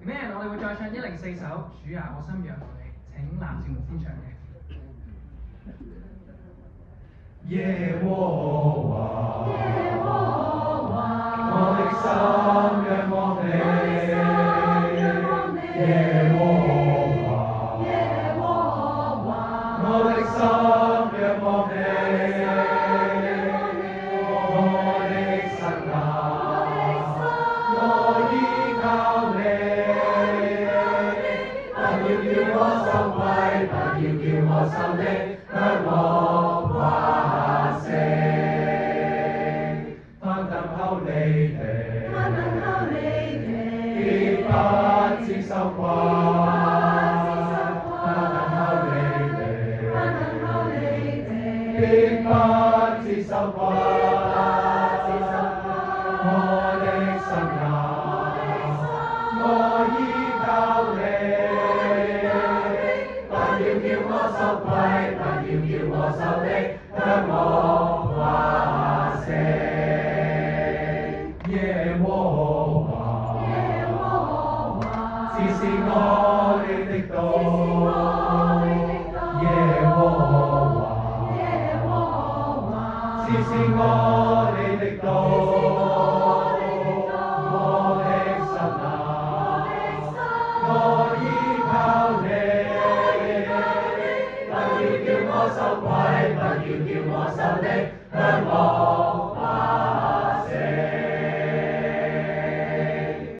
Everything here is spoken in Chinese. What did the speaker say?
咩？我哋會再唱104首《主啊，我心仰望你》，請藍少龍先唱嘅。 耶和華，我的心仰望你，耶和華，我的心仰望你，我的神啊，我依靠你，不要叫我羞愧，不要叫我受力，向我誇勝，他等候你哋，必不致羞愧，他等候你哋，必不致羞愧，我的神啊，我依靠你。不要叫我羞愧，不要叫我受力，向我誇勝。耶和華，這是我哋的道。耶和華，這是我哋的道。我的神啊，我依靠你。不要叫我羞愧，不要叫我受力，向我